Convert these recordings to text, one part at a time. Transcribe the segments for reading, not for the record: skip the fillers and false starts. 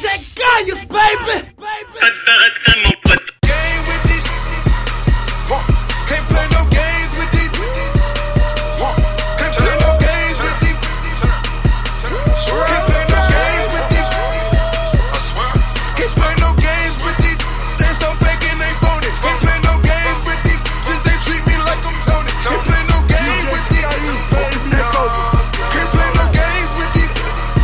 Gaius, baby. Game with it. Can't play no games with it. Can't play no games with it. Can't play no games with it. I swear. Can't play no games with it. They so fake and they phony. Can't play no games with it. Since they treat me like I'm Tony. Can't play no games with it. Can't play no games with it.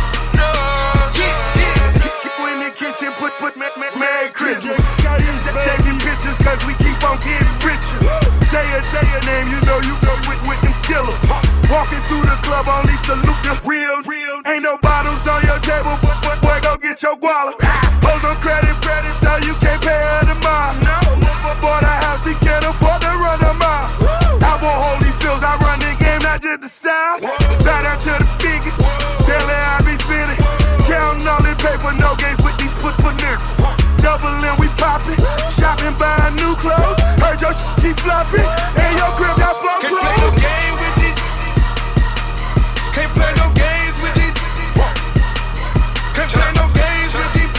In the kitchen, put Merry Christmas. Taking pictures cause we keep on getting richer. Say your name, you know with them killers. Walking through the club, only salute the real. Ain't no bottles on your table, but boy, go get your guala. Hoes on credit, so you can't pay her the mile. Bought a house, she can't afford to run a mile. I bought Holyfields, I run the game, not just the South. Bow down to the biggest, daily I be spinning. Counting all the paper, no games with these put niggas. Doubling, we poppin', shopping, buying new clothes. Heard your keep flopping, and your crib got flow clothes. Can't play no game with it. Can't play no games with it. Can't play no games with it.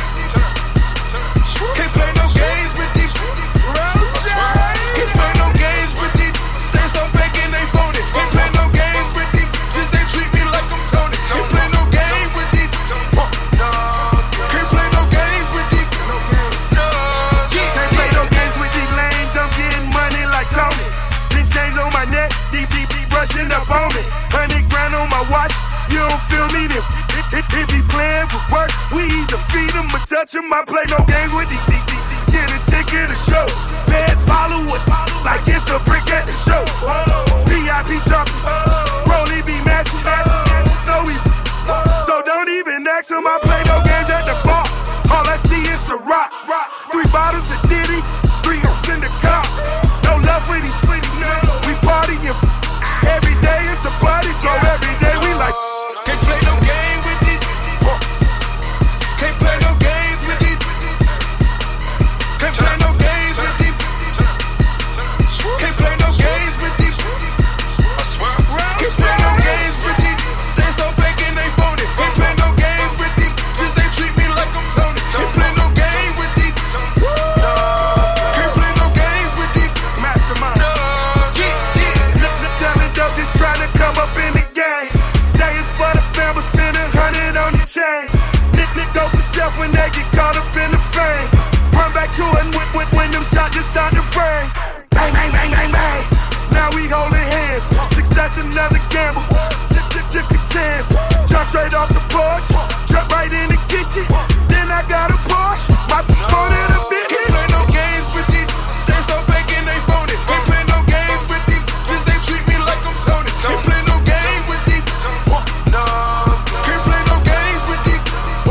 Can't play no games with it. Can't play no games with it. They so fake and they phony. Can't play no games with it. Since they treat me like I'm Tony. Can't play no game with it. Can't play no games with it. Can't play no games with these lames. I'm getting money like Tony. 10 chains on my neck, deep brushing up on me. 100 grand on my watch, you don't feel me. If he playing with work, we either feed him or touch him. I play no games with these. Get a ticket to show. Feds follow us like it's a brick at the show. VIP jumping, Rolly be matching. No easy, so don't even ask him. I play no games at the bar. All I see is a rock. 3 bottles of Diddy, 3 hoops in the car. No love for these splitties. We partying every day. It's a party, so every day we like. Can't play no game with it. Can't play no games with it. Can't play no games with it. Can't play no games with it. I swear. Can't play no games with it. They so fake and they phony. Can't play no games with it. Since they treat me like I'm Tony. Can't play no game with it. Can't play no games with it. Mastermind. Diamond dope just trying to come up in the game. Say it's for the fam, but spend 100 on the chain. Nick go for self when they get caught up in the fame. Run back to it when them shots just start to rain. Bang, bang, bang, bang, bang. Now we holding hands. Success another gamble. Took a chance. Jump straight off the porch. Jump right in the kitchen. Then I got a Porsche. My phone in a bit. Can't play no games with it. They so fake and they phony. Can't play no games with it. Since they treat me like I'm Tony. Can't play no game with it. Can't play no games with it.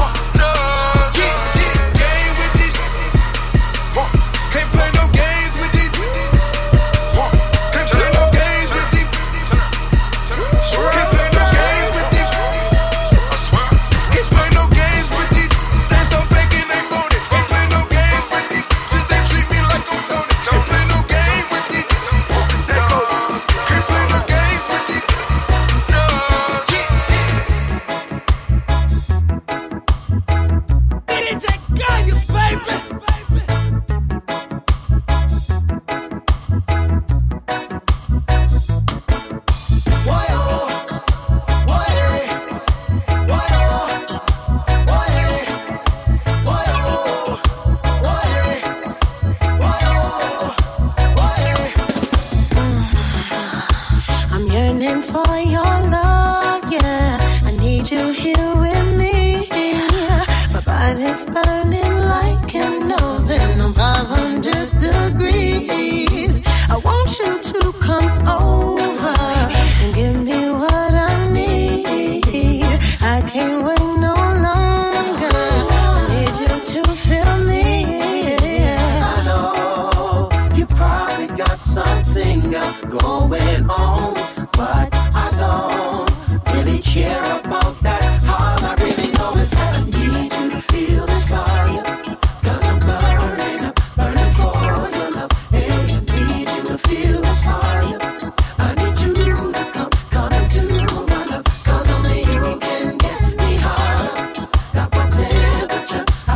Game with it. Can't play no games with it. Can't play no games with it. Can't play no games with it. I swear. Can't play no games with it. They so fake and they phony. Can't play no games with it. Since they treat me like I'm Tony. Can't play no game with it. What's the takeover? Can't play no games with it. DJ Gaius, baby. I'm yearning for your love, yeah. I need you here with me. My body's burning like an oven on 500 degrees. I want you to come over and give me what I need. I can't wait no longer. I need you to feel me. I know you probably got something else going on, but I don't really care about that. All I really know is that I need you to feel this fire. 'Cause I'm burning up, burning for your love. Hey, I need you to feel this fire. I need you to come into my love. 'Cause only you can get me higher. Got my temperature,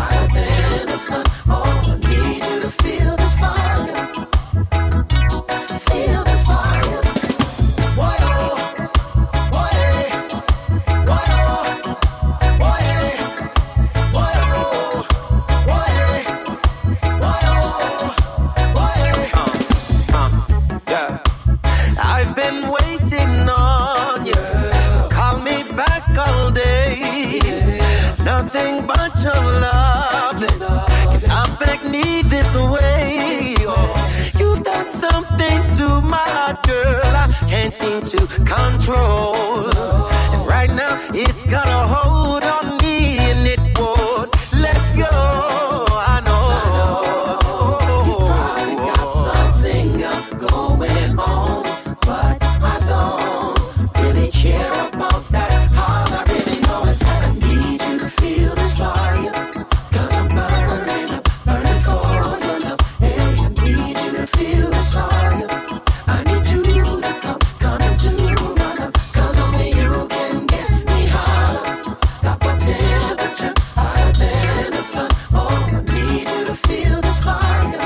day. Nothing but your love can affect me this way. You've done something to my heart, girl, I can't seem to control. And right now it's got a hold on me and it won't let go. I know you probably got something else going on, but I don't really care about that. All I really know is I need you to feel this fire, 'cause I'm burning up, burning for your love. Hey, I need you to feel this fire. I need you to come into my love, 'cause only you can get me higher. Got my temperature higher than the sun. Oh, I need you to feel this fire.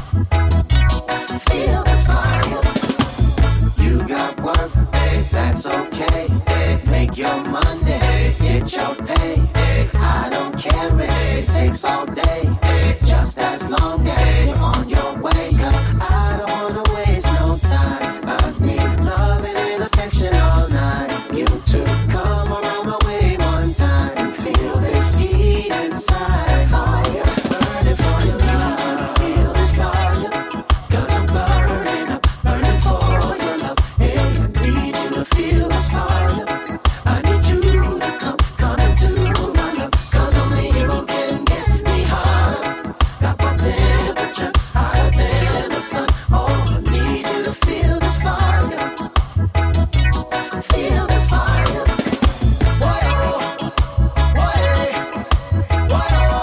Feel this fire. You got work, hey, that's okay. Hey, make your money, get your pay. Hey, I don't care if it takes all day. Hey, just as long as you're on your way. 'Cause I don't wanna waste no time. I need loving and affection all night. You two come around my way one time and feel this heat inside. Fire, burning for your love. Feel this fire, 'cause I'm burning up, burning for your love. Hey, I need you to feel this fire. I need you to come into my love, 'cause only you can get me higher. Got my temperature higher than the sun. Oh, I need you to feel this fire. Feel this fire. Whoa, whoa, whoa,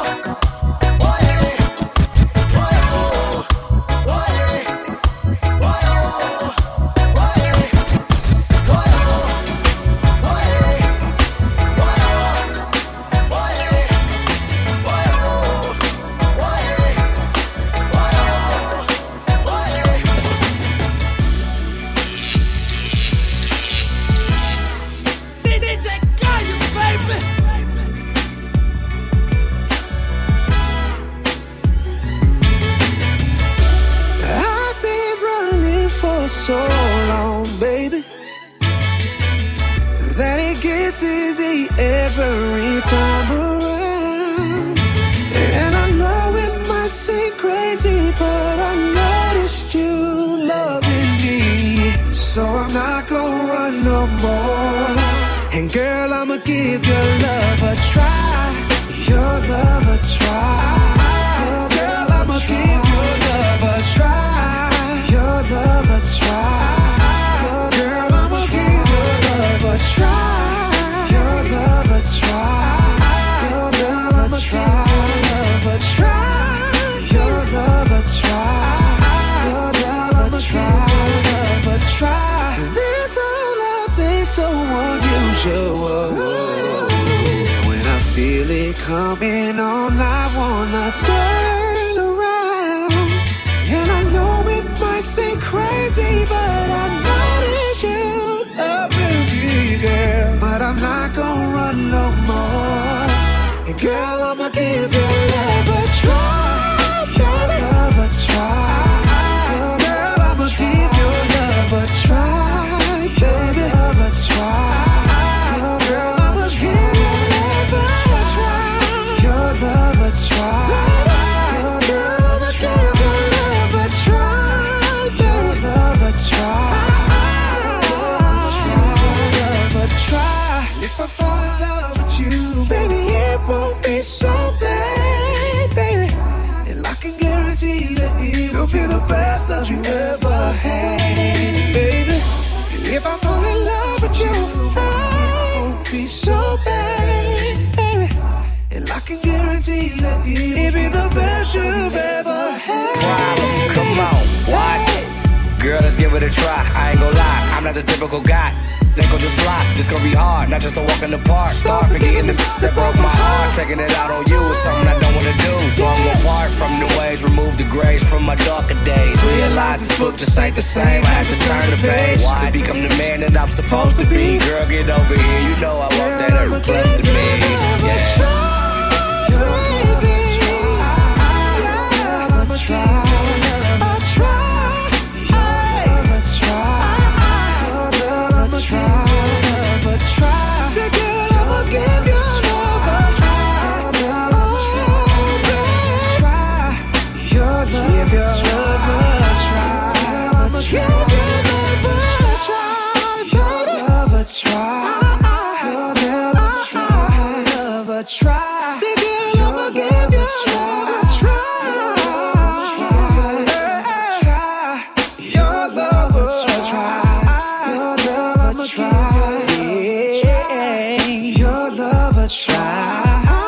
DJ Gaius, baby. I've been running for so long, baby, that it gets easy every time around. And I know it might seem crazy, but I noticed you loving me, so I'm not gonna run no more. And girl, I'ma give your love a try, your love a try. Girl, I'ma give your love a try, your love a try. Girl, I'ma give your love a try, your love a try. Your love a try, love a try. Your love a try, your love a try, love a try. This whole love is so unusual. When I feel it coming on, I wanna turn around. And I know it might seem crazy, but I notice you loving me, girl. But I'm not gonna run no more. And girl, I'ma give your love a try, your love a try. Girl, I'ma give your love a try, your love a try. Girl, I'ma give your love a try, your love a try. Girl, I'ma give your love a try, your love a try. Love a try. If I fall in love with you, baby, it won't be so bad, baby. And I can guarantee that it will be the best love you ever had, baby. And if I fall in love with you, it won't be so bad, baby. And I can guarantee that it'll be the best you've ever had. Problem, come on, what? Girl, let's give it a try. I ain't gon' lie, I'm not the typical guy. Ain't gon' just fly, this gon' be hard, not just a walk in the park. Start forgetting the that broke my heart. Taking it out on you is something I don't wanna do. So I'm gon' part from the ways, remove the grays from my darker days. Realize this book just ain't the same, I had to turn the page to become the man that I'm supposed to be. Girl, get over here, you know I want that every close to me. Yeah. Try, say girl, I'ma give try. Say, girl, I'ma give you a try. Your love a try. Your love a try. Yeah. Your love a try.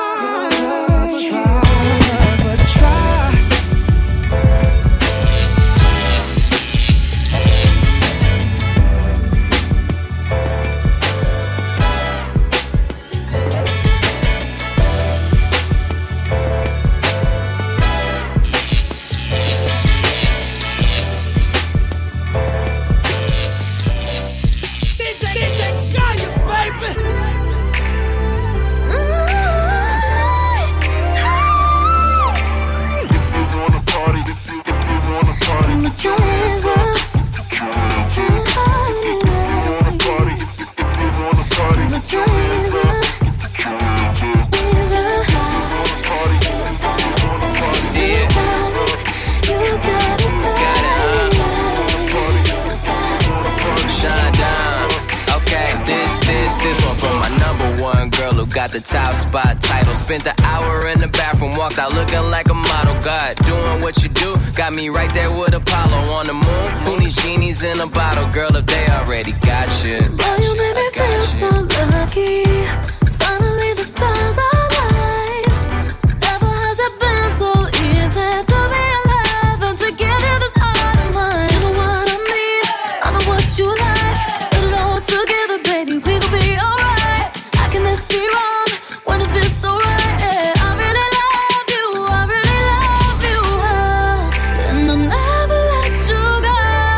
Got the top spot title. Spent the hour in the bathroom, walked out looking like a model. God, doing what you do, got me right there with Apollo on the moon. Who needs genies in a bottle, girl, if they already got you? Oh, you made me feel so lucky. Finally the stars align. Never has it been so easy to be alive and to give you this heart of mine. You know what I mean? I know what you like. Put it all together, baby, we gon' be alright. How can this be wrong when it feels so right? Yeah, I really love you, I really love you, and I'll never let you go.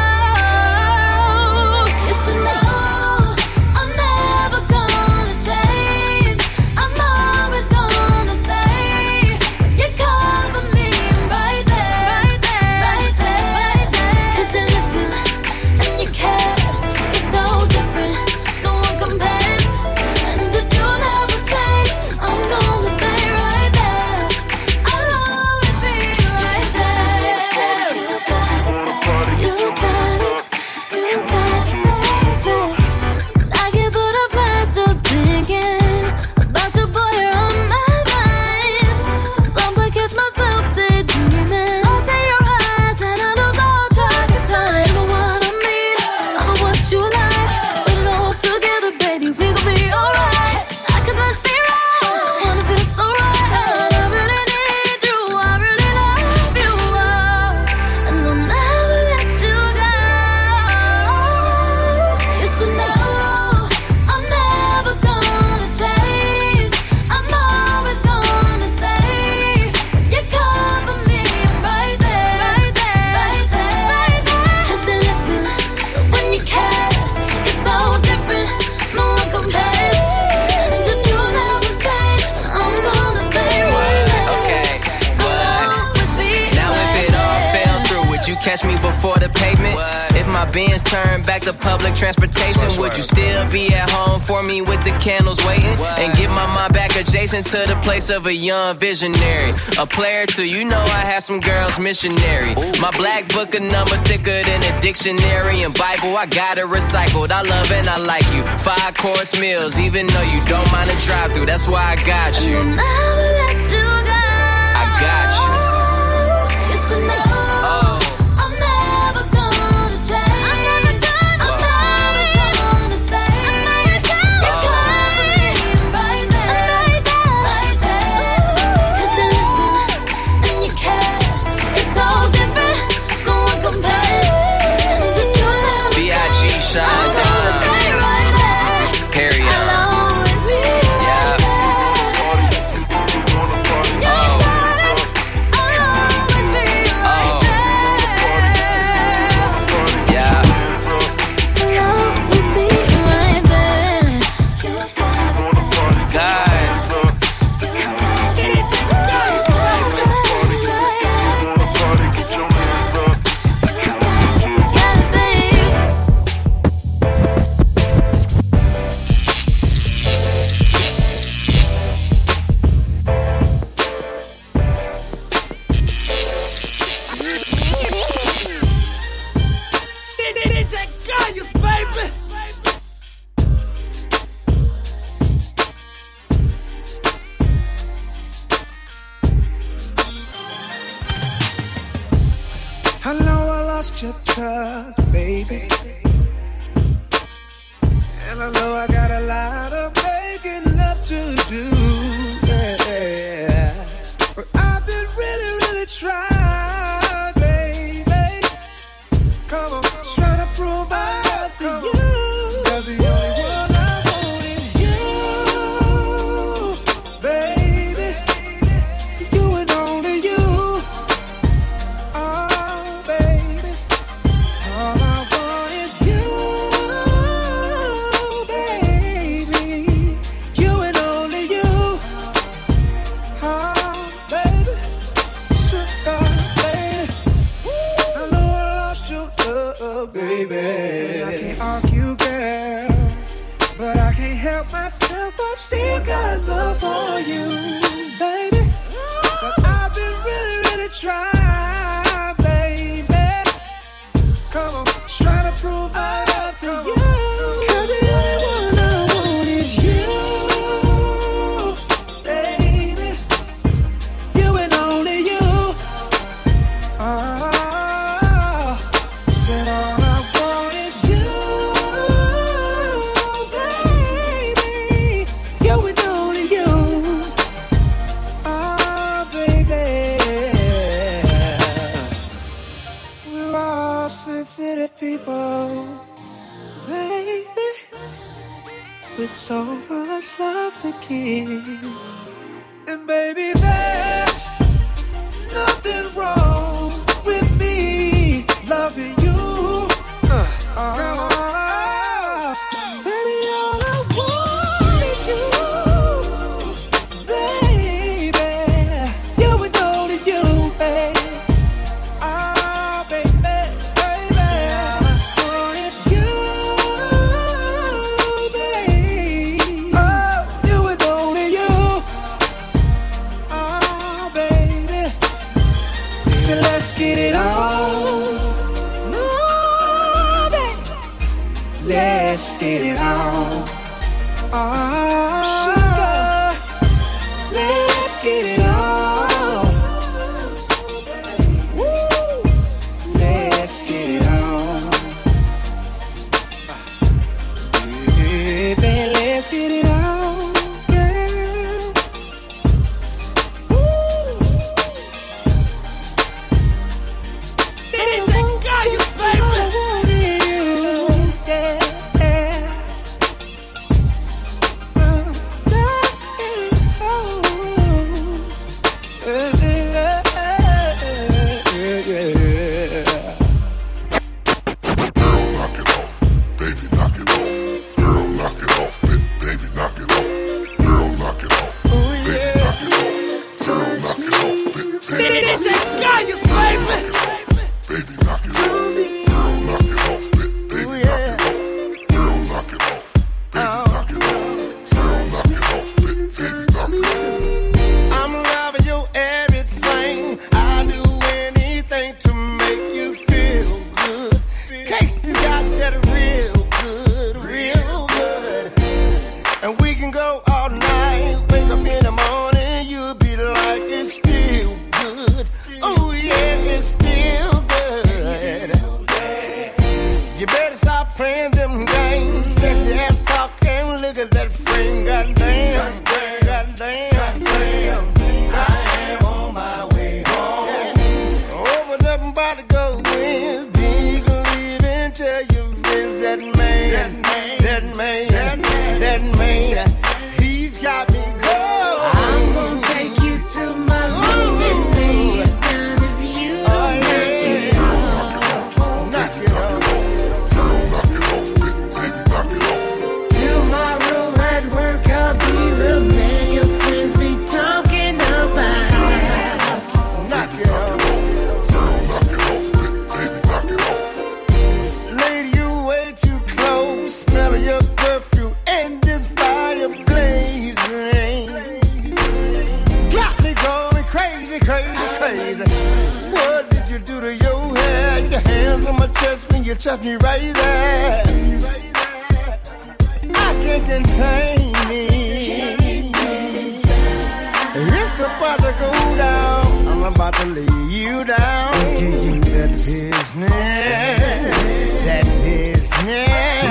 You should know I'm never gonna change. I'm always gonna stay. You cover me right there, right there, right there, right there. 'Cause you listen and you care. It's so different, no one compares. And if you never change, I'm gonna stay right there. I'll always be right there. You got it, you got it, you got it, baby. I can put up plans just thinking about your boy, you're on my mind. Sometimes I catch myself daydreaming, lost in your eyes, and I lose all track of time. You know what I mean? I know what you like. Put it all together, baby, we gon' be alright. How could this be wrong? Wanna feel so right. I really need you, I really love you, and I'll never let you go. You should know I'm never gonna change. I'm always gonna stay. You cover me right there, right there, right there, right there. 'Cause you listen when you care. It's so different, no one compares. And if you never change, I'm gonna stay right there. Okay, I'll always be now if right it all there. fell through, would you catch me before the pavement? If my Benz turned back to public transportation, would you still be at home for me with the candles waiting? And get my mind back adjacent to the place of a young visionary, a player too, you know I had some girls missionary. My black book of numbers thicker than a dictionary and Bible, I got it recycled. I love and I like you. 5-course meals, even though you don't mind a drive-through, that's why I got I'll you. never let you go. I got you. You should know I'm never gonna change. I'm never done. I'm always gonna stay. You cover me right there, right there, right there. 'Cause you listen and you care. It's so different, no one compares. And if you never B.I.G. change, Sean I'm gonna Don. stay right there. Harry I'll always be right there. You got it. I'll always be right I know I lost your trust, baby. And I know I got a lot of making up to do, yeah. But I've been really trying, baby. Come on, trying to prove my love to you. 'Cause the only one I want is you, baby. You and only you. Oh, baby. All I want is you, baby. You and only you. Oh, baby. Sugar, baby. I know I lost your love, baby. And I can't argue, girl, but I can't help myself. I still got love for you, baby. But I've been really trying, baby. Come on, trying to prove my love to you. 'Cause the only one I want is you, baby. You and only you. Oh, said all I want is you, baby. You and only you. Oh, baby. We're all sensitive people, baby, with so much love to give. And baby, there's nothing wrong with me loving you. Baby, all I want is you, baby. You and only you, baby. Ah, baby, baby. All I want is you, baby. Oh, you and only you. Oh, baby. So let's get it on. Oh, baby. Let's get it on. Oh, sugar. Let's get it on. Woo. Let's get it on. Baby, let's get it on, girl. Woo. Anything got you, baby. Anything got you, baby. Baby, knock it off. Girl, knock it off. Baby, knock it off. Girl, knock it off. Baby, knock it off. Girl, knock it off. Baby, knock it off. I'm loving you everything. I'll do anything to make you feel good. Casey's got that real good. And we can go all night. Wake up in the morning, you'll be like it's still good. Oh yeah, it's still good. You better stop playing them games. Sexy ass talk and look at that frame. Goddamn. I am on my way home. Open up and about to go wins. Then you can leave and tell your friends that man, he's got me going. I'm gonna take you to my room and lay you down if you knock it off. Knock it off. Girl, knock it off. Baby, knock it off. Till my room at work, I'll be the man your friends be talking about. Knock it off. Girl, knock it off. Baby, knock it off. Lady, you way too close. Smell of your perfume and this fire blazing. Got me going crazy. What did you do to your hair? Your hands on my chest when you touch me right there. I can't contain it. It's about to go down. I'm about about to lay you down. Give you that business. That business.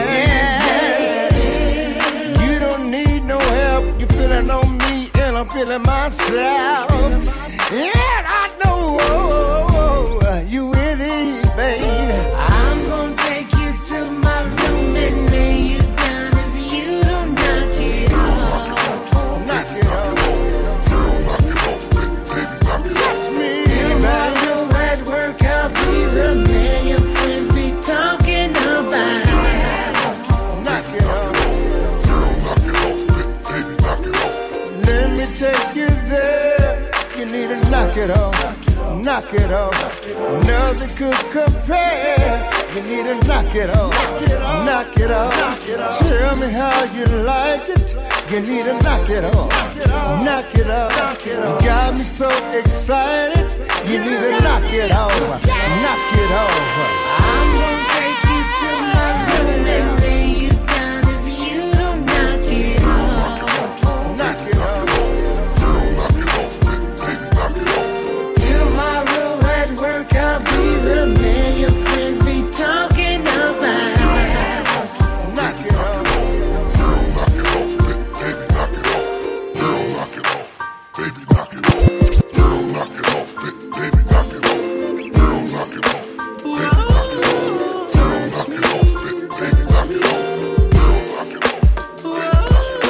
You don't need no help. You feeling on me and I'm feeling myself. And I know you with it, baby. I'm gonna take you to my room and lay you down if you don't knock it off. Knock it off. Girl, knock it off, baby, knock it off. Till while you're at work, I'll be the man your friends be talking about. Knock it off. Girl, knock it off, baby, knock it off. Let me take you there. You need to knock it off. Knock it off. Nothing could compare. You need to knock it off. Knock it off. Tell me how you like it. You need to knock it off. Knock it off. You got me so excited. You need to knock it off. Knock it off. I'm gonna take you to my room and lay you down if you don't knock it off. Knock it off. Girl, knock it off, baby, knock it off. Till my room at work, I'll be the man your friends be talking about. Knock it off. Girl, knock it off, baby, knock it off. Girl, knock it off, baby, knock it off. Girl, knock it off, baby, knock it off. Girl, knock it off, baby, knock it off. Girl, knock it off, baby, knock it off. Girl, knock it off, baby, knock it off.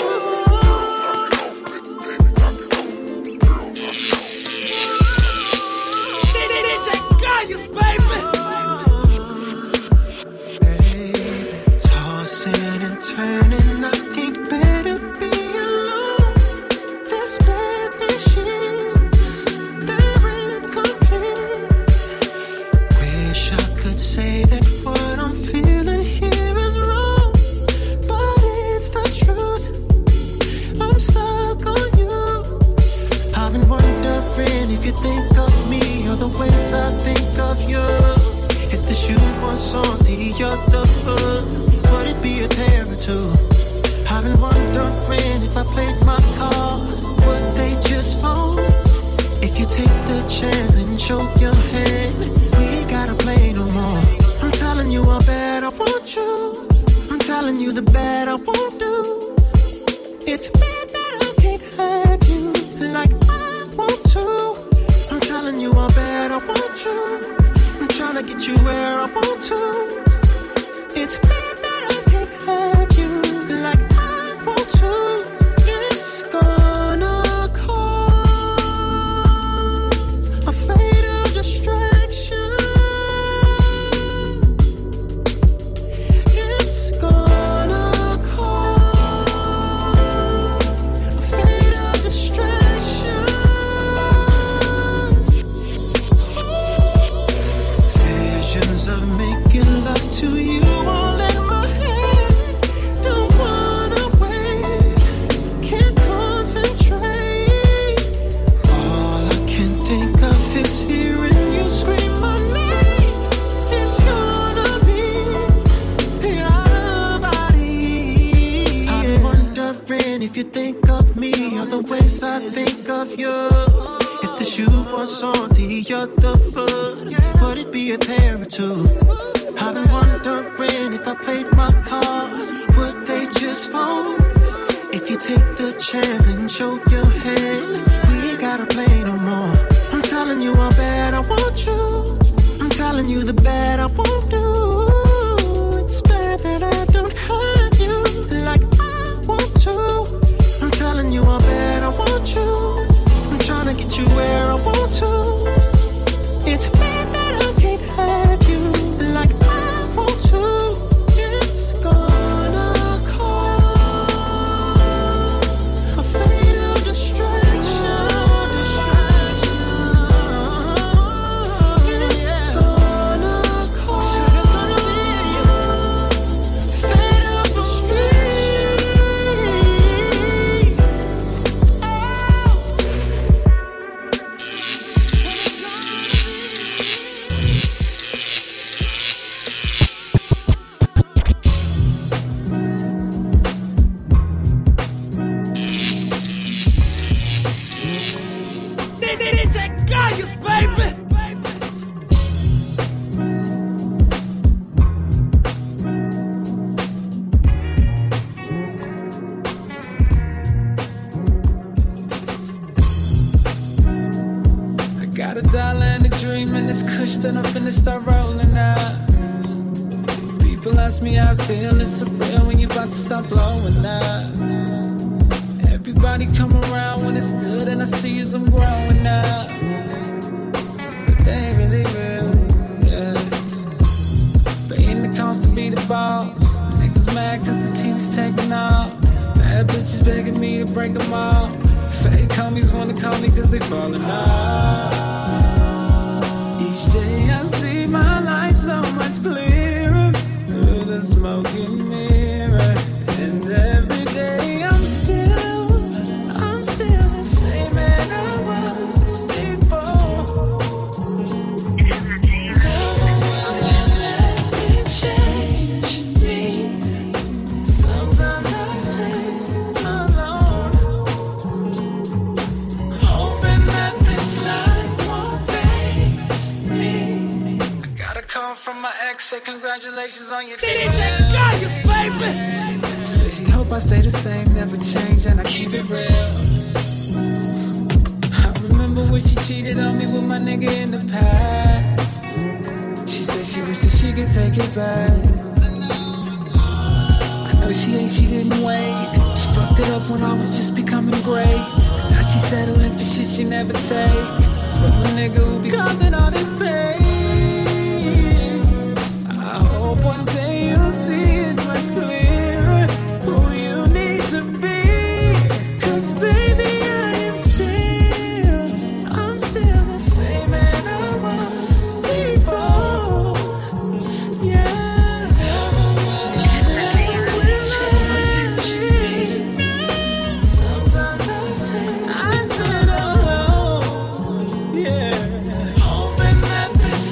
Tossing and turning, I can't bear to be alone. This bad sheets, they're incomplete. Wish I could say that what I'm feeling here is wrong, but it's the truth. I'm stuck on you. I've been wondering if you think of me or the ways I think of you. If the shoe was on the other foot, would it be a pair or two? I've been wondering if I played my cards, would they just fold? If you take the chance and show your hand, we ain't gotta play no more. I'm telling you how bad I want you. I'm telling you the bad I won't do. It's bad that I can't have you like I want to. I'm telling you how bad I want you. I'm trying to get you where I want to. It's bad that I can't have you like I want to. It's gonna cause a fatal distraction. It's gonna cause a fatal distraction. Visions of making love to you all in my head. Don't wanna wait, can't concentrate. All I can think of is hearing you scream my name. It's gonna be your body. I'm wondering if you think of me or the ways I think of you. If the shoe was on the other foot, would it be a pair or two? I've been wondering if I played my cards, would they just fold? If you take the chance and show your hand, we ain't gotta play no more. I'm telling you how bad I want you. I'm telling you the bad I won't do. It's bad that I don't have you like I want to. I'm telling you how bad I want you. I'm trying to get you where I want to. It's bad that I can't have you like I want to. It's gonna cause a fatal distraction. a dollar and a dream, and it's kush that I'm finna start rolling out. People ask me how I feel, it's surreal when you about to stop blowing out. Everybody come around when it's good, and I see as I'm growing out. But they ain't really real, yeah. Paying the cost to be the boss. Niggas mad cause the team is taking off. Bad bitches begging me to break them off. Fake homies wanna call me cause they falling off. Each day I see my life so much clearer through the smoking mirror. And every day I'm still the same man I was before. No one will let me change me. Sometimes I sit alone, hoping that this life won't face me. I got a call from my ex, say congratulations on your day. Say she hope I stay the same, never change, and I keep it real. I remember when she cheated on me with my nigga in the past. She said she wished that she could take it back. I know she didn't wait. She fucked it up when I was just becoming great. And now she settling for shit she never take from a nigga who be causing all this pain. I hope one day you'll see it much clearer who you need to be. Cause baby, I'm still the same man I was before. Yeah, never will change me. Sometimes I sit alone, yeah, hoping that this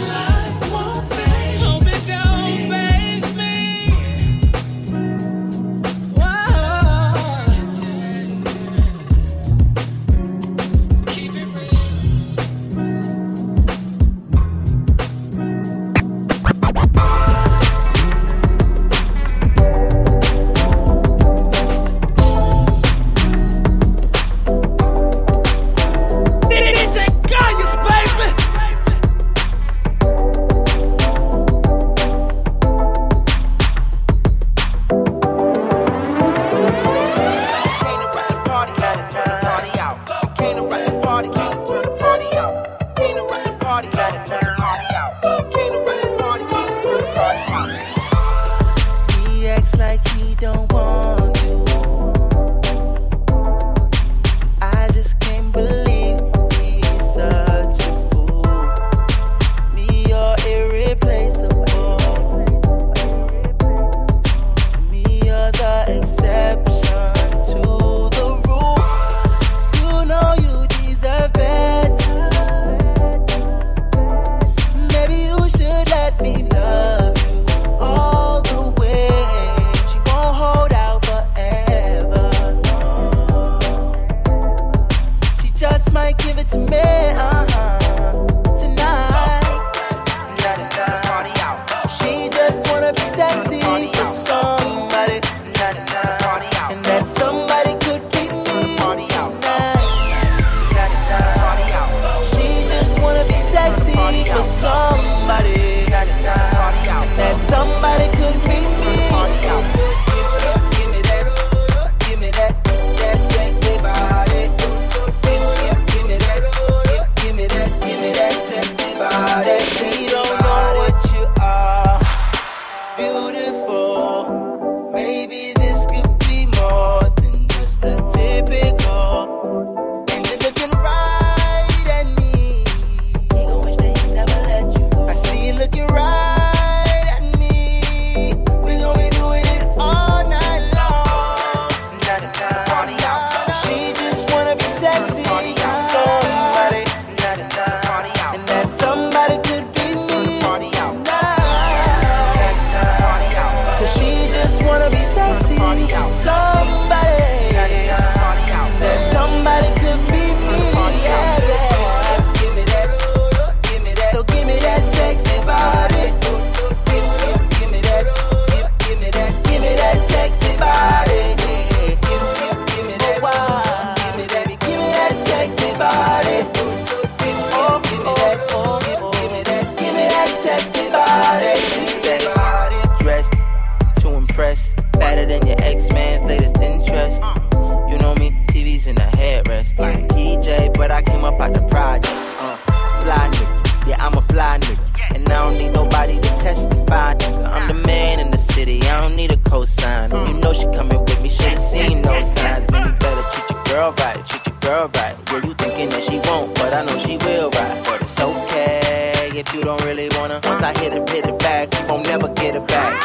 like PJ, but I came up out the projects. Fly nigga, yeah, I'm a fly nigga. And I don't need nobody to testify. I'm the man in the city, I don't need a cosign. You know she coming with me, should've seen those signs. Man, you better treat your girl right, treat your girl right. Yeah, you thinking that she won't, but I know she will right. But it's okay if you don't really wanna. Once I hit it back, you won't never get it back.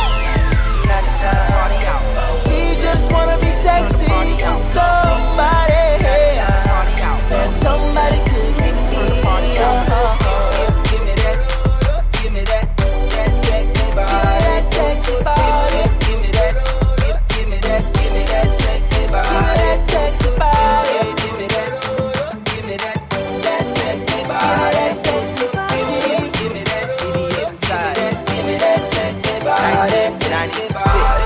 She just wanna be sexy for somebody. And somebody could be me. Give me that, give me that sexy body, that sexy body. Give me that, give me that sexy body, that sexy body. Give me that sexy body, that sexy body. Give me that, give me that sexy body, 96.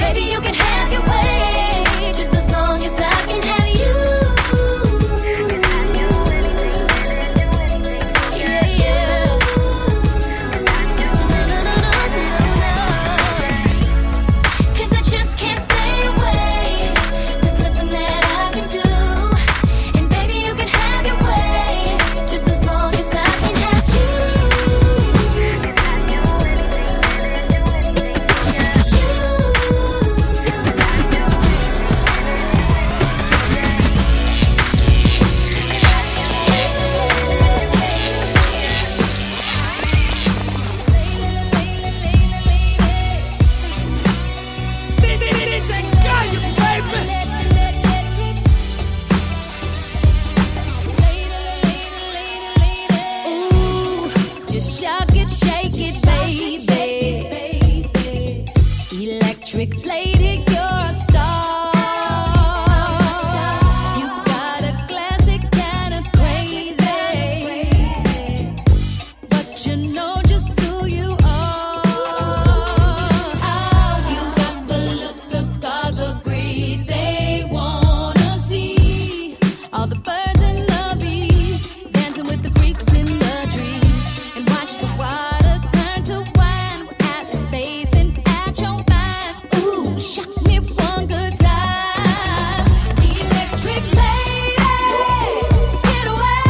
Just as long as I can have you. shock it, shake it, baby. Electric lady, you're a star. You got a classic kind of crazy, but you know just who you are. Oh, you got the look the gods agree they wanna see. All the birds and lovies dancing with the freaks in the trees, and watch the water turn to wine at the space and at your mind. Ooh, shock me one good time. Electric lady, get away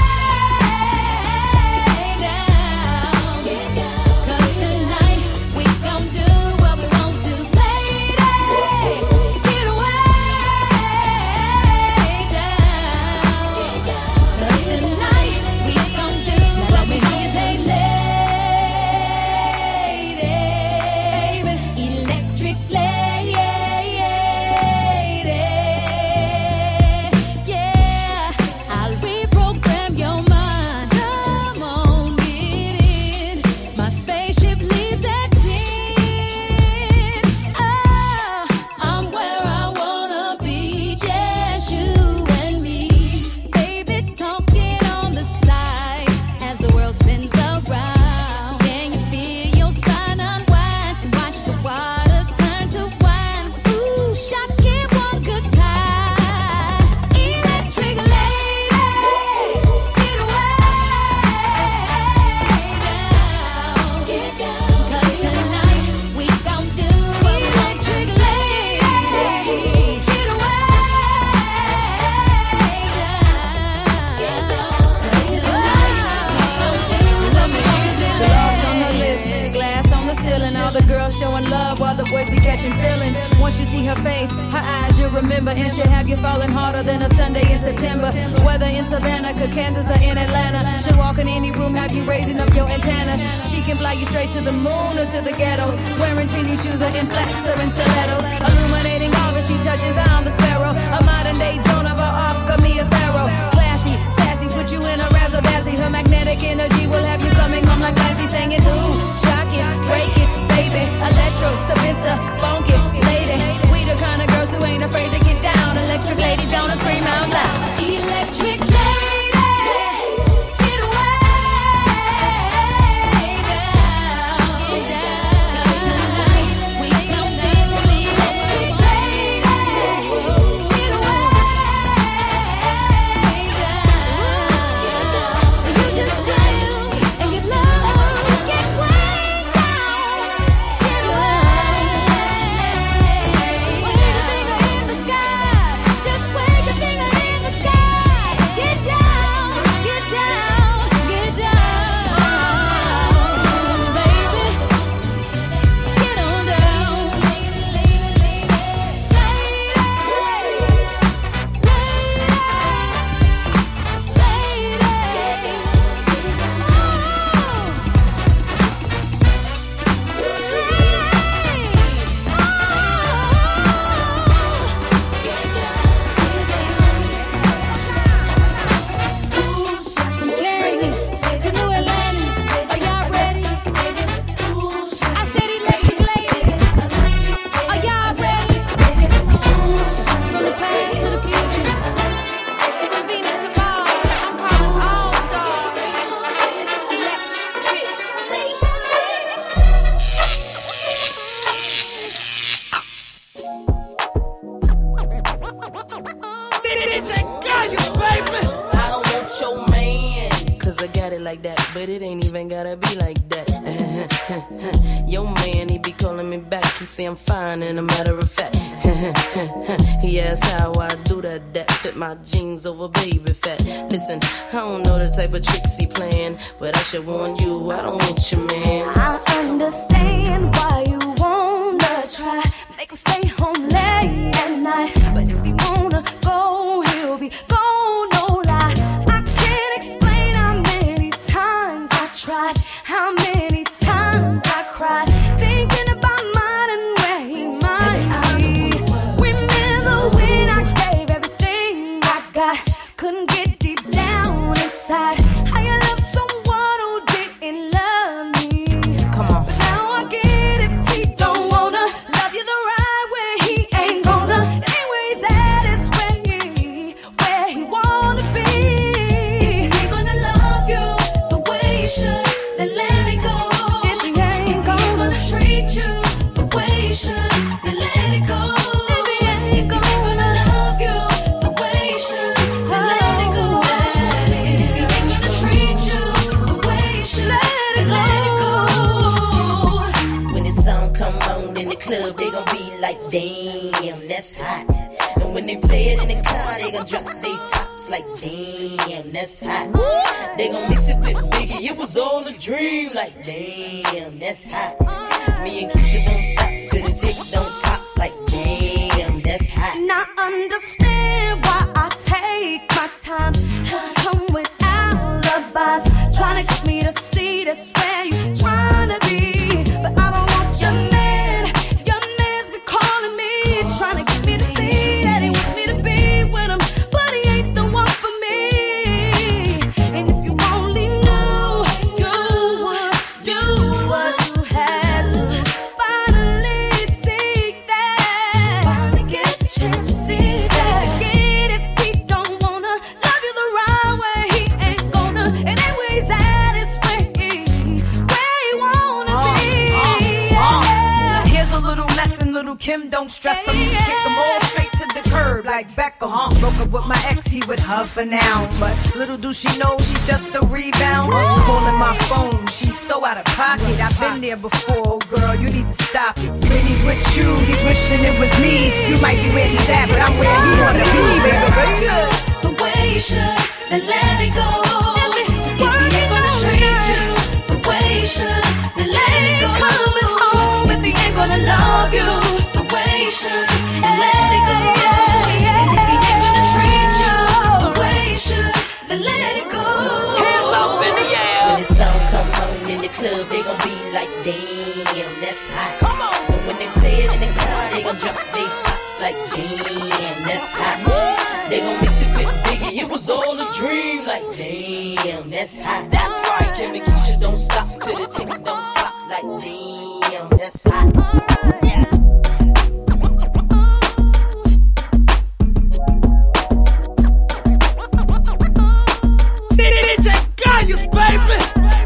down. 'Cause tonight we gon' do what we want to. Lady, get away down. 'Cause tonight we gon' do what we want to. Say lady, electric lady, yeah. I'll reprogram your mind. Come on, get in. My spaceship leaves at 10. Oh, I'm where I wanna be, just you and me. Baby, talking on the side as the world spins around. Can you feel your spine unwind and watch the water turn to wine? Ooh, shock it one good time. Electric lady, get away down. 'Cause tonight we gon' do electric lady, get away down. 'Cause tonight we gon' do what we want to. Gloss on her lips, glass on the ceiling. All the girls showing love while the boys be catching feelings. Once you see her face, her eyes you'll remember, and she'll have you falling harder than a Sunday in September. Whether in Savannah, Kansas, or in Atlanta, she'll walk in any room, have you raising up your antennas. She can fly you straight to the moon or to the ghettos, wearing teeny shoes or in flats or in stilettos. Illuminating all that she touches, I'm the sparrow, a modern day Joan of Arc, or Mia Farrow. Classy, sassy, put you in a razzle dazzle. Her magnetic energy will have you coming home like classy, singing ooh, shock it, break it, baby. Electro, Savista, funk it, lady. We the kind of girls who ain't afraid to get down. Electric ladies gonna scream out loud. Electric lady, get away down. 'Cause tonight we gon' do electric lady, get away down. You just do and get low, get way down, get away. Wave your finger in the sky, just wave your finger in the sky. Get down, get down, get down, baby. Get on down, From Kansas to New Atlantis, are y'all ready? I said electric lady, are y'all ready? From the past to the future, from Venus to Mars, I'm calling all stars. Electric lady. I don't want your man, 'cause I got it like that, but it ain't even gotta be like that. Your man, he be calling me back, he say I'm fine and a matter of fact. He asks how I do that fit my jeans over baby fat. Listen, I don't know the type of tricks he playing, but I should warn you, I don't want your man. I understand why you wanna try, make him stay home late at night. But if he wanna go, he'll be gone, no lie. I can't explain how many times I tried, how many times I cried, thinking about mine and where he might be. Remember when I gave everything I got, couldn't get deep down inside. How you love someone who didn't love club, they gon' be like, damn, that's hot. And when they play it in the car, they gon' drop their tops like, damn, that's hot. They gon' mix it with Biggie, it was all a dream, like, damn, that's hot. Me and Keisha don't stop till the tick don't top, like, damn, that's hot. Now understand why I take my time. Cause you come with alibis, trying to get me to see that's where you trying to be. But I don't want your man. Your man's been calling me, trying to get me to see that he wants me to be with him, but he ain't the one for me. And if you only knew, you would do what you had to. Finally see that. Finally get the chance to see that. Forget if he don't wanna love you the right way, he ain't gonna. And anyway, he's at his where he wanna be. Yeah. Here's a little lesson, little Kim, don't stress him. Kick them all straight to the curb like Beckham. Broke up with my ex, he with her for now. But little do she know she's just a rebound. Calling my phone, she's so out of pocket. I've been there before, girl, you need to stop it. When he's with you, he's wishing it was me. You might be where he's at, but I'm where he wanna be, baby. The way you should, then let it go. If he ain't gonna treat you the way you should, then let it go. Coming home if he ain't gonna love you the way you should, then let it go. And if he ain't gonna treat you the way you should, then let it go. Hands up in the air. When the song come on in the club, they gon' be like, damn, that's hot. Come on. And when they play it in the car, they gon' drop their tops like, damn, that's hot. They gon' mix it with Biggie, it was all a dream, like, damn, that's hot. That's right. Kim and Keisha don't stop till the tick don't top, like, damn, that's hot. Yes. DJ Gaius, baby.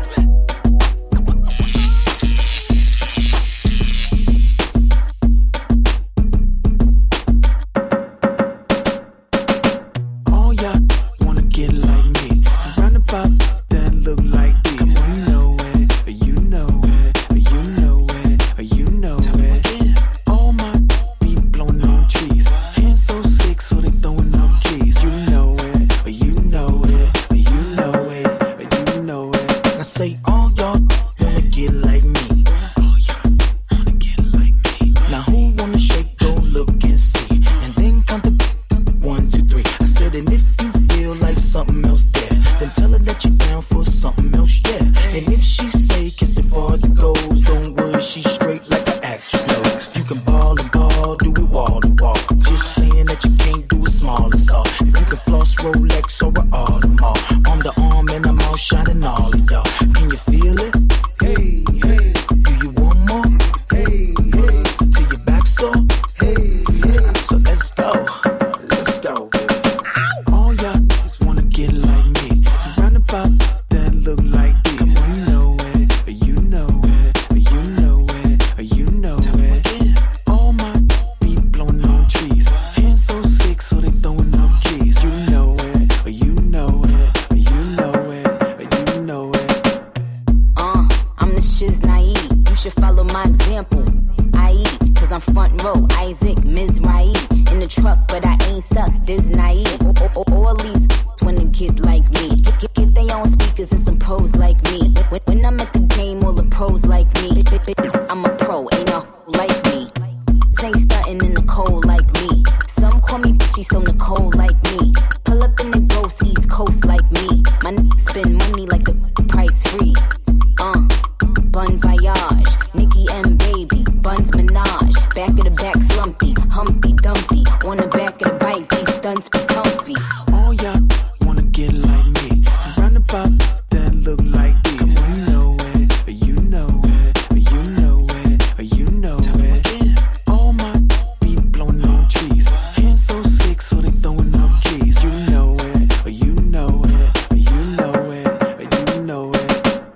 All y'all wanna get like me, surrounded by that look like these. You know it, you know it, you know it, you know it. All my be blowing on trees, hands so sick, so they throwing up G's. You know it, you know it, you know it, you know it. Now say all y'all wanna get like me. All y'all wanna get like me. Now who wanna shake, go look and see, and then count the 1, 2, 3. I said, and if you feel like something else there, then tell her that you're down for something else, yeah. And if she say kiss it far as it goes, don't worry, she's straight like an actress knows. You can ball and ball, do it wall to wall. Just saying that you can't do it small as all. If you can floss Rolex or an Audemars, arm to arm and I'm all shining all of y'all. Can you feel it? Hey, hey. Do you want more? Hey, hey. Till your back sore? Hey, hey. So let's go. Let's go, baby. All y'all niggas wanna get like me, surrounded by that look like these. You know it, you know it, you know it, you know it. All my be blowing on trees, hands so sick, so they throwing up G's. You know it, you know it, you know it, you know it. I'm the shiz naive. You should follow my example. I eat, cause I'm front row. Isaac, Mizrahi. In the truck, but I ain't suck. This naive. All these wanna get like me. Get their own speakers and some pros like me. When I'm at the game, all the pros like me. I'm a pro, ain't no like me. Ain't stuntin' in the cold like me. Some call me bitchy, so Nicole like me. Pull up in the ghost, East Coast like me. My spend money like the price free. Bun Voyage, Nicki and Baby, Buns Minaj. Back of the back slumpy, Humpty Dumpty. On the back of the bike, these stunts be comfy. All y'all wanna get like me, surrounded by that look like these. You know it, you know it, you know it, you know it. All my be blowing on trees, hands so sick, so they throwing up G's. You know it, you know it, you know it, you know it.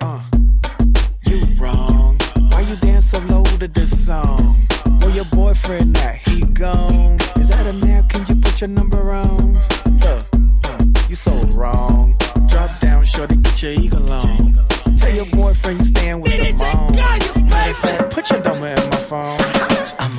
You wrong. Why you dance so low to this song? Where your boyfriend at? He gone. Is that a nap? Can you put your number on? Look, you so wrong. Drop down, shorty, get your eagle on. Tell your boyfriend you staying with Simone. Matter of fact, put your number in my phone. I'm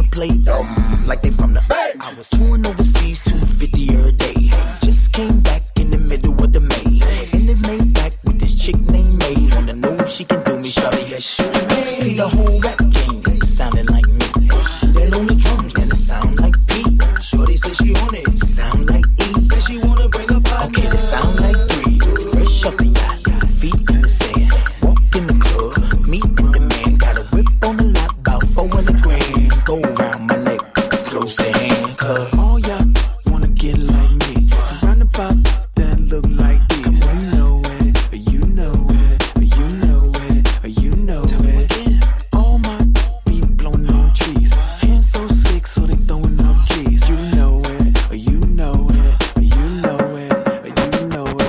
play dumb like they from the Bay. I was touring overseas, 250 every day. Just came back in the middle of the May. In the Maybach with this chick named May. Wanna know if she can do me, shawty, yes, she may. See the whole rap game sounding like me. Then on the drums, man, it sound like P. Shorty said she want it, sound like E. Said she wanna bring up partner. Okay, this sound like 3. Fresh off the yacht, feet in the sand. Walk in the club, me and the man. Got a whip on the lot, about 400 grand. Go around my neck, close the hand, cause all y'all wanna get like me. Surround about that look like this. You know it, you know it, you know it, you know it. All my be blowing on trees. Hands so sick, so they throwing up G's. You know it, you know it, you know it, you know it.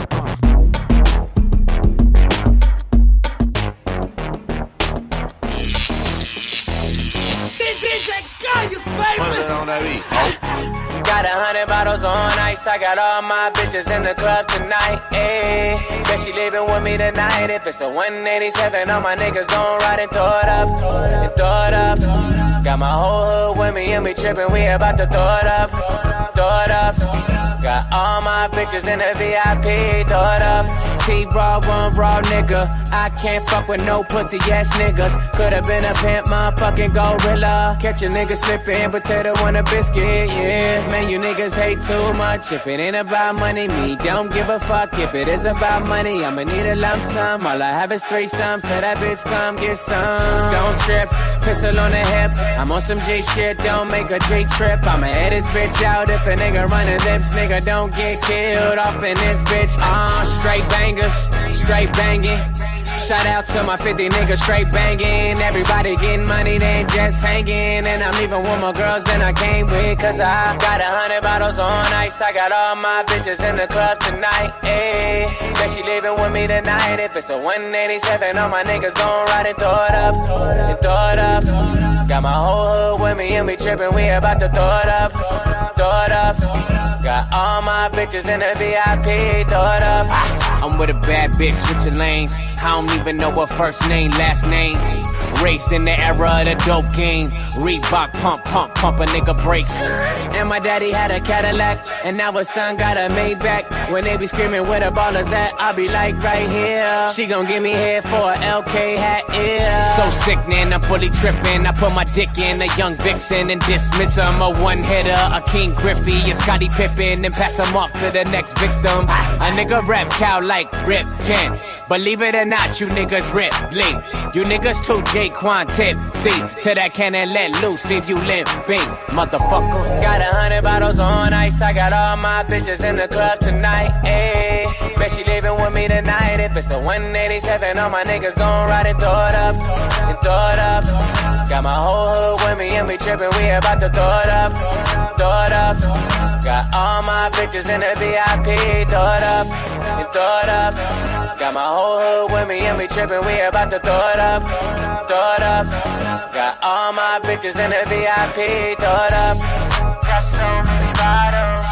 Got 100 bottles on ice. I got all my bitches in the club tonight. Ayy, bet she leaving with me tonight. If it's a 187, all my niggas gon' ride and throw it up, and throw it up. Got my whole hood with me and we trippin'. We about to throw it up, throw it up. Got all my bitches in the VIP, throw it up. T-Raw, one raw nigga. I can't fuck with no pussy ass niggas. Could've been a pimp, motherfucking gorilla. Catch a nigga slippin', potato on a biscuit, yeah. Man, you niggas hate too much. If it ain't about money, me don't give a fuck. If it is about money, I'ma need a lump sum. All I have is threesome. Tell that bitch come get some. Don't trip, pistol on the hip. I'm on some G shit, don't make a G trip. I'ma edit this bitch out if a nigga run his lips. Nigga don't get killed off in this bitch. Straight bangers, straight banging. Shout out to my 50 niggas straight banging. Everybody getting money, they ain't just hanging. And I'm leaving with more girls than I came with. Cause I got 100 bottles on ice. I got all my bitches in the club tonight. Ayy, bet she leaving with me tonight. If it's a 187, all my niggas gon' ride and throw it up, and throw it up. Got my whole hood with me and we trippin'. We about to throw it up, throw it up. Got all my bitches in the VIP, throw it up. I'm with a bad bitch, switching lanes. I don't even know her first name, last name. Raised in the era of the dope game. Reebok, pump, pump, pump a nigga brakes. And my daddy had a Cadillac, and now his son got a Maybach. When they be screaming where the ballers at, I be like right here. She gon' give me head for a LK hat, yeah. So sickening, I'm fully tripping. I put my dick in a young vixen and dismiss him. A one-hitter, a King Griffey, a Scottie Pippen, and pass him off to the next victim. A nigga rap cow like Rip Kent. Believe it or not, you niggas rip, link. You niggas too J-Quan tip. See, to that cannon let loose, leave you limping, motherfucker. Got 100 bottles on ice. I got all my bitches in the club tonight. Ayy, bet she leaving with me tonight. If it's a 187, all my niggas gon' ride and throw it up, and throw it up. Got my whole hood with me and we trippin'. We about to throw it up, throw it up. Got all my bitches in the VIP, throw it up, and throw it up. Got my whole hood with me and we trippin'. We about to throw it up, throw it up. Got all my bitches in the VIP, throw it up. Got so many bottles,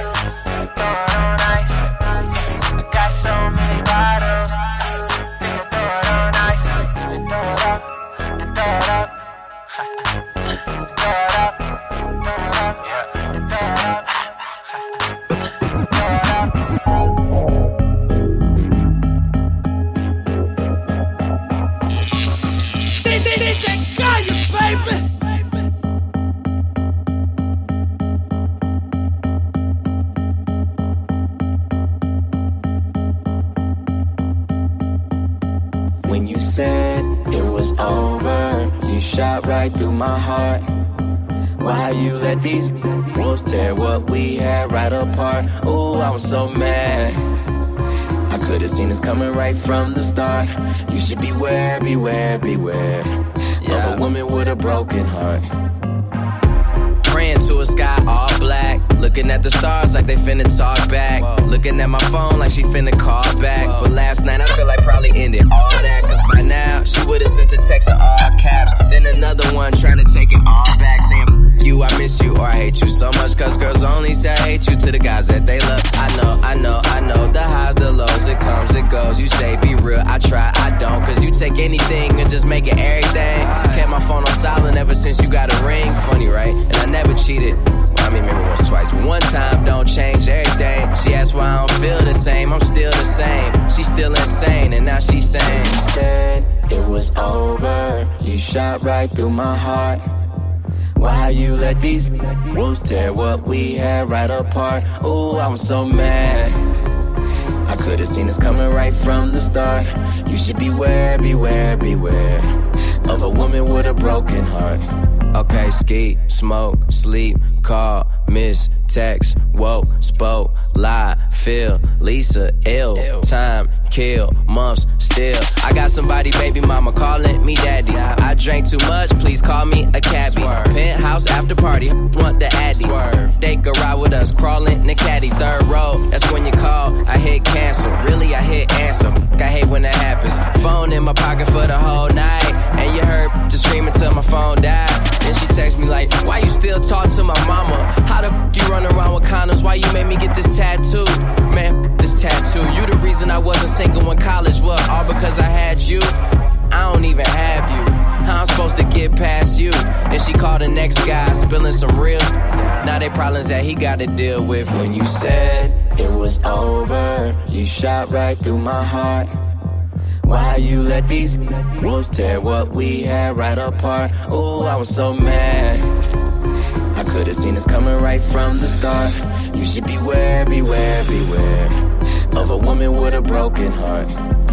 throw it on ice. I got so many bottles, nigga throw it on ice. And throw it up, and throw it up. Throw it up, throw it up, and throw it up. When you said it was over, you shot right through my heart. Why you let these wolves tear what we had right apart? Oh, I was so mad. I could've seen this coming right from the start. You should beware, beware, beware of a woman with a broken heart. Praying to a sky all black, looking at the stars like they finna talk back. Looking at my phone like she finna call back. But last night I feel like probably ended all that. Cause by now she would've sent a text in all caps. Then another one trying to take it all back, saying you, I miss you, or I hate you so much. Cause girls only say I hate you to the guys that they love. I know, the highs, the lows, it comes, it goes. You say be real, I try, I don't. Cause you take anything and just make it everything. Kept my phone on silent ever since you got a ring. Funny, right? And I never cheated. Well, I mean, maybe once, twice, but one time don't change everything. She asked why I don't feel the same, I'm still the same. She's still insane, and now she's saying, you said it was over, you shot right through my heart. Why you let these wolves tear what we had right apart? Ooh, I'm so mad. I could've seen this coming right from the start. You should beware, beware, beware of a woman with a broken heart. Okay, ski, smoke, sleep, call, miss, text, woke, spoke, lie, feel, Lisa, ill, time, kill, months, still. I got somebody, baby mama, calling me daddy. I drank too much, please call me a cabbie. Penthouse after party, want the addy. They could ride with us, crawling in the caddy. Third row, that's when you call, I hit cancel. Really, I hit answer. I hate when that happens. Phone in my pocket for the whole night, and you heard just screaming till my phone died. Then she text me like, why you still talk to my mama? How the f*** you run around with condoms? Why you made me get this tattoo? Man, this tattoo. You the reason I wasn't single in college. What, all because I had you? I don't even have you. How I'm supposed to get past you? Then she called the next guy, spilling some real. Now they problems that he gotta deal with. When you said it was over, you shot right through my heart. Why you let these wolves tear what we had right apart? Ooh, I was so mad. I could've seen this coming right from the start. You should beware, beware, beware of a woman with a broken heart.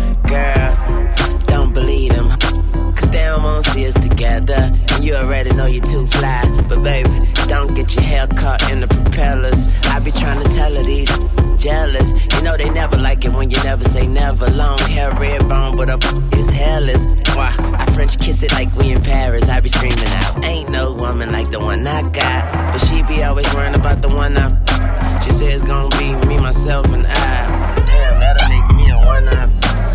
Girl, don't believe them, cause they don't wanna see us together. And you already know you're too fly. But baby, don't get your hair caught in the propellers. I be trying to tell her these jealous. You know they never like it when you never say never. Long hair, red bone, but up is hairless. Why? I French kiss it like we in Paris. I be screaming out, ain't no woman like the one I got. But she be always worrying about the one She said it's gonna be me, myself, and I. Damn, that'll make me a one-up.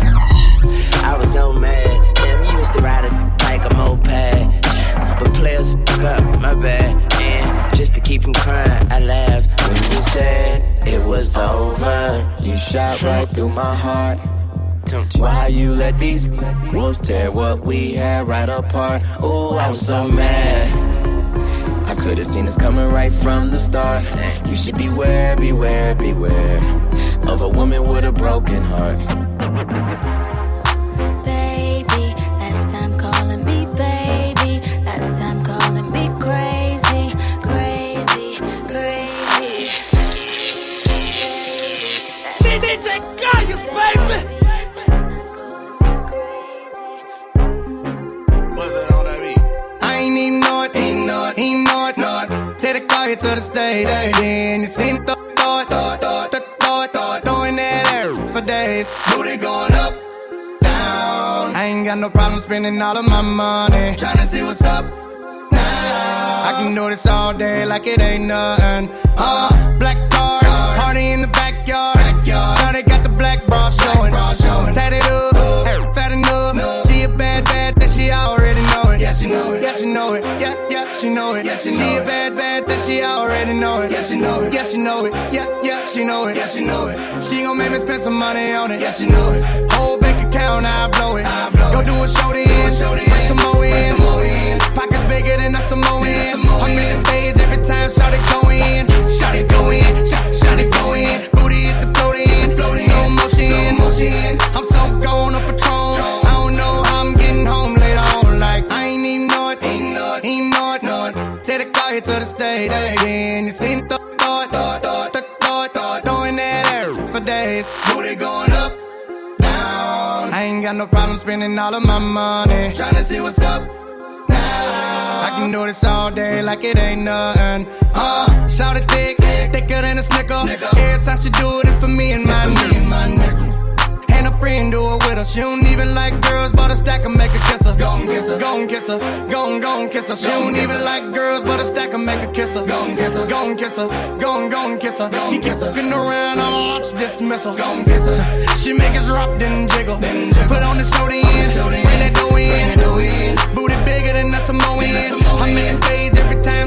I was so mad. Damn, you used to ride it like a moped. But players fuck up, my bad. And just to keep from crying, I laughed. When you said it was over, you shot right through my heart. Why you let these wolves tear what we had right apart? Ooh, I was so mad. I could've seen this coming right from the start. You should beware, beware, beware of a woman with a broken heart. Baby, last time calling me baby, last time calling me crazy, crazy, crazy. DJ Gaius, baby. I ain't even know it, ain't know it. Take the car here to the stage, then you seen the thought, throwing that air for days. Booty going up, down. I ain't got no problem spending all of my money, tryna see what's up now. I can do this all day like it ain't nothing. Black card, party in the backyard. Shawty got the black bra showing. Tatted up, fat enough. She a bad, that she already know it. Yeah, she know it. Yeah, she know it. Yeah, she know it. She a bad, that she already know it. Yeah, she know it. Yeah, she know it. Yeah, she know it. Yeah, she know it. She gon' make me spend some money on it. Yeah, she know it. Whole bank account, I blow it. Go do a show then, bring some more in. Pockets bigger than a Samoan. I'm in the stage every time, shout it go in. Shout it go in, shout it go in. Booty hit the floating, slow motion. I'm so gone on Patron. I don't know how I'm getting home later on. Like I ain't even know it, ain't know it. Take the car here to the stage, then you seen the thought, throwing that air for days. Booty going up, down. I ain't got no problem spending all of my money, tryna see what's up now. I can do this all day like it ain't nothing. Shout it thicker than a snicker. Every time she do it, it's for me and my nigga. And a friend do it with her. She don't even like girls, but a stack and make her kiss her. Gon' kiss her, gon' kiss her, gon' kiss her. She don't even like girls, but a stack and make her kiss her. Gon' kiss her, gon' kiss her, gon' kiss her. She kiss her, looking around on launch dismissal. Gon' kiss her. She make us rock, then jiggle. Put on the show then, bring that dough in. Booty bigger than a Samoan. I'm in the stage every time,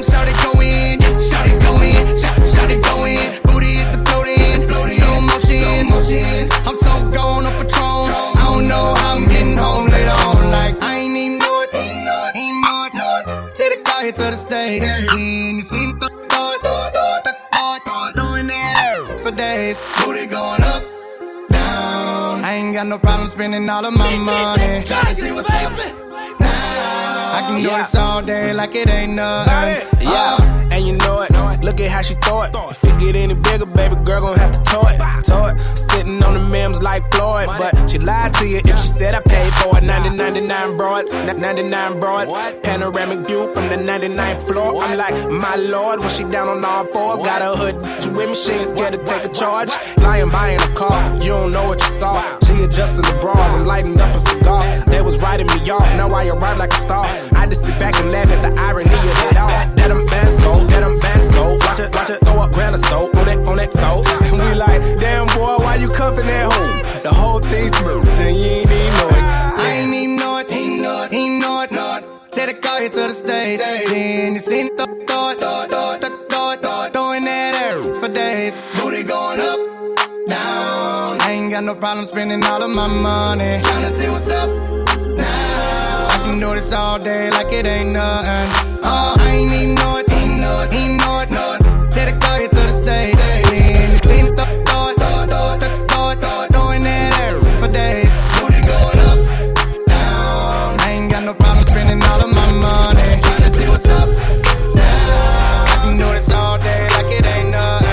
shout it go in, shout it go in, shout it go in. Booty hit the floating, slow motion. I'm so gone on Patron. I don't know how I'm getting home later on. Like I ain't even know it, ain't know it. Take the car here to the stage. You seen the thought, doing that for days. Booty going up, down. I ain't got no problem spending all of my money. Tryna see what's happening. I can do this all day like it ain't nothing. Yeah, and you know it. Look at how she throw it. If it get any bigger, baby girl gon' have to tow it. Sitting on the memes like Floyd, but she lied to you if she said I paid for it. 99 broads, 99 broads. Panoramic view from the 99th floor. I'm like, my lord, when she down on all fours. Got her hood with me, she ain't scared to take a charge. Lying buying a car, you don't know what you saw. She adjusting the bras, I'm lighting up a cigar. They was writing me off, now I arrive like a star. I just sit back and laugh at the irony of it all. That them bands go, Watch it throw up grand or so on that toe. And we like, damn boy, why you cuffing that hoe? The whole thing smooth, and you ain't even know it. I ain't even know it, ain't know it. Take the car here to the stage. Then you seen the thought, throwing that air for days. Booty going up, down. I ain't got no problem spending all of my money. Tryna see what's up now. I can do this all day like it ain't nothing. I ain't even know it, ain't know it. Take the car here to the stage. Then you seen the thought, throwing that air for days. Booty going up, down. I ain't got no problem spending all of my money. Tryna see what's up now. I can do this all day like it ain't nothing.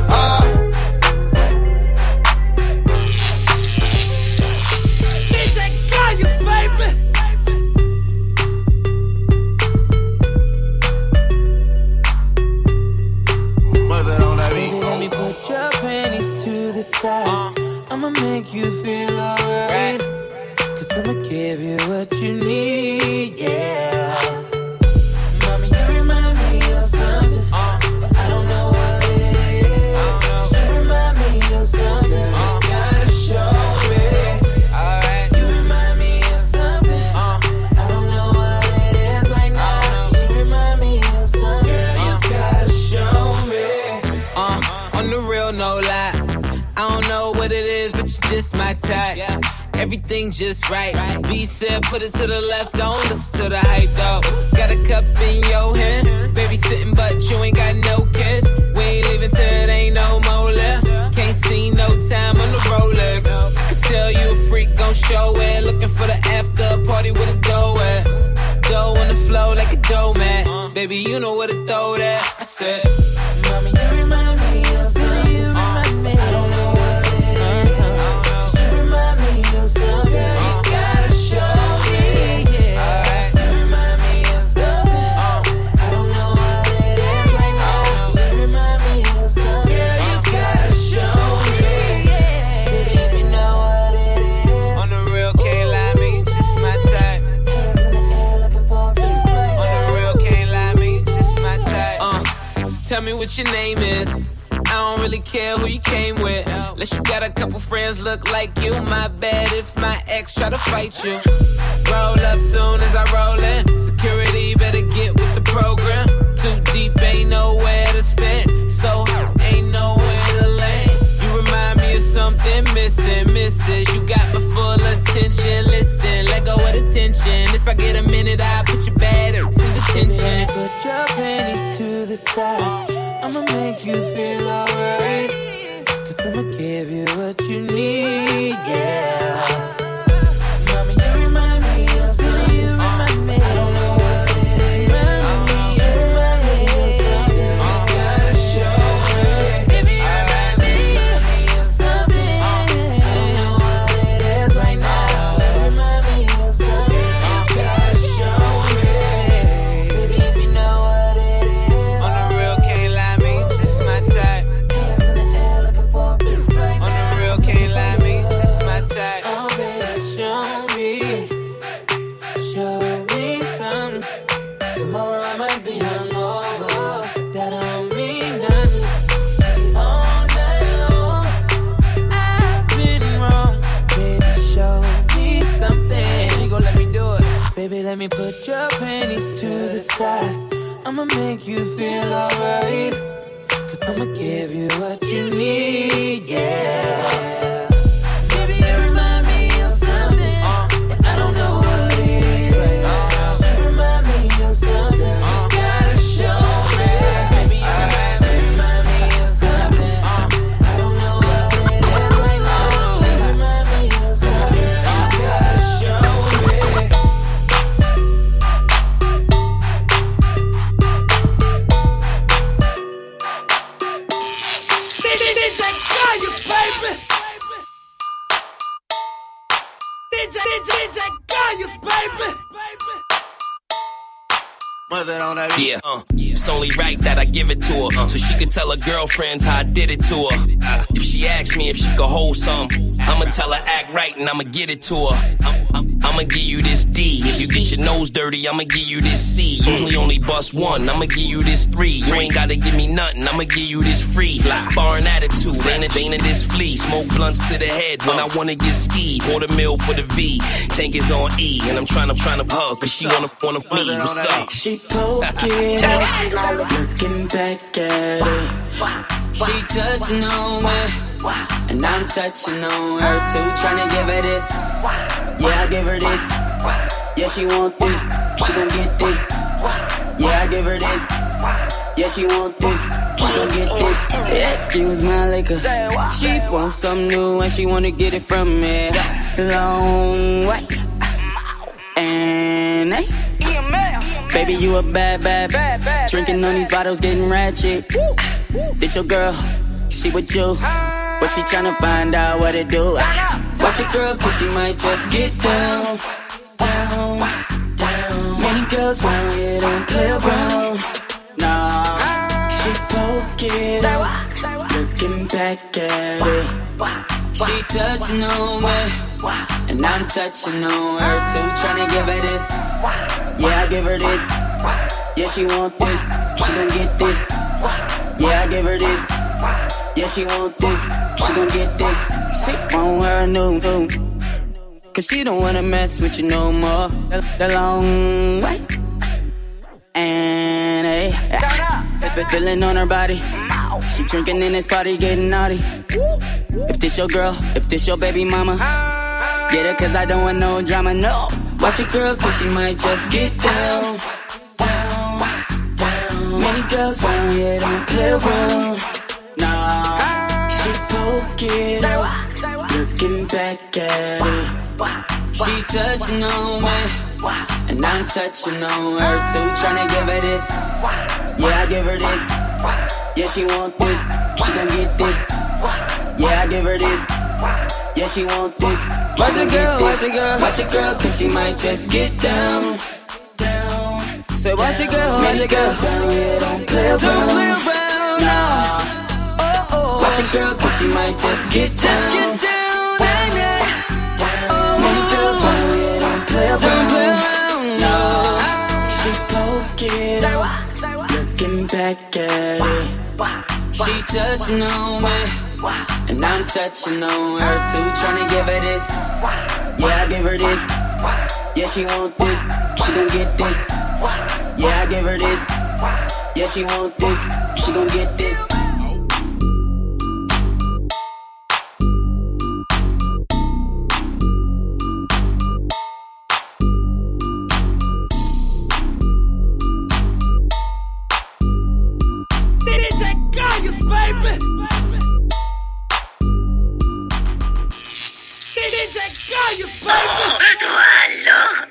DJ Gaius, baby. Baby, let me put your panties to the side. I'ma make you feel alright. Cause I'ma give you what you need, yeah. Mommy, you remind me of something, but I don't know what it is. You remind me of something, you gotta show me. You remind me of something, I don't know what it is right now. You remind me of something, girl, you gotta show me. On the real, no lie. I don't know what it is, but you're just my type. Everything just right. B said, put it to the left, don't listen to the hype though. Got a cup in your hand, baby sitting, but you ain't got no kiss. We ain't leaving till it ain't no more left. Can't see no time on the Rolex. I can tell you a freak gon' show it. Looking for the after party with a dough at. Dough on the flow like a dough man. Baby, you know where to throw that. I said, Mommy, you remind me of something. You remind me. I don't know what it is. You remind me of something. You gotta show me. Yeah. You remind me of something. I don't know what it is right now. You remind me of something. Girl, you gotta show me. Baby, if you know what it is. on the real, can't lie, me, you just my type. Hands in the air looking for me. On the real, can't lie, me, you just my type. So tell me what your name is. I don't really care who you came with. Unless you got a couple friends look like you. My bad if my ex try to fight you. Roll up soon as I roll in. Security better get with the program. Too deep, ain't nowhere to stand. So ain't nowhere to land. You remind me of something missing, missus. You got my full attention. Listen, let go of the tension. If I get a minute, I'll put your bad in detention. Put your panties to the side. I'ma make you feel alright. Cause I'ma give you what you need, yeah. Mommy, you remind me of something. You remind me. I don't know what it is. You remind me of something. You gotta show me. Baby, you remind me of something. I don't know what it is right now. You remind me of something. You gotta show me. Baby, if you know what it is. On the real, can't lie, me, just my type. Hands in the air looking for me right On the now. real, can't lie, me, just my type. Oh, baby. make you feel alright. Cause I'ma give you what you need, yeah. Baby, you remind me of something, but I don't know what it is. You remind me of something, you gotta show me. Baby, you remind me of something, I don't know what it is right now. You remind me of something, you gotta show me. DJ Gaius, baby. DJ Gaius, baby. Yeah, it's only right that I give it to her, so she could tell her girlfriends how I did it to her. If she asks me if she could hold some, I'ma tell her act right and I'ma get it to her. I'ma give you this D. If you get your nose dirty, I'ma give you this C. Usually only bust one, I'ma give you this 3. You ain't gotta give me nothing, I'ma give you this free. Foreign attitude, ain't it this flea. Smoke blunts to the head when I wanna get skied. Pour the mill for the V, tank is on E, and I'm trying to hug, cause she wanna be. What's up? She poking up, looking back at it. She touching on me, and I'm touching on her too. Tryna give her this, yeah, I give her this. Yeah, she want this, she gon' get this. Yeah, I give her this, yeah, she want this, she gon' get this. Excuse my liquor, she want something new and she wanna get it from me. Long way, and hey. Baby, you a bad. Drinking on these bottles, getting ratchet. This your girl, she with you. But she tryna find out what it do. Watch your girl, cause she might just get down. Many girls round here don't play around. Nah, she poking up, looking back at it. She touching on me, and I'm touching on her too. Tryna give her this, yeah, I give her this. Yeah, she want this, she gon' get this. Yeah, I give her this, yeah, she want this, she gon' get this. She want her new, cause she don't wanna mess with you no more. The long way, and hey, feeling on her body. She drinking in this party, getting naughty. If this your girl, if this your baby mama, get her cause I don't want no drama, no. Watch your girl cause she might just get down. Many girls round here don't play around. Nah, she poking up, looking back at it. She touching on me, and I'm touching on her too. Tryna give her this, yeah, I give her this. Yeah, she want this, she gon' get this. Yeah, I give her this, yeah, she want this. Watch your girl, cause she might just get down. So watch your girl, round here don't play around. Nah, watch your girl, cause she might just get down. Many girls round here don't play around. Nah, she poking up, looking back at it. She touching on me, and I'm touching on her too. Tryna give her this, yeah, I give her this. Yeah, she want this, she gon' get this. Yeah, I give her this, yeah, she want this, she gon' get this. DJ Gaius, baby. DJ Gaius, baby.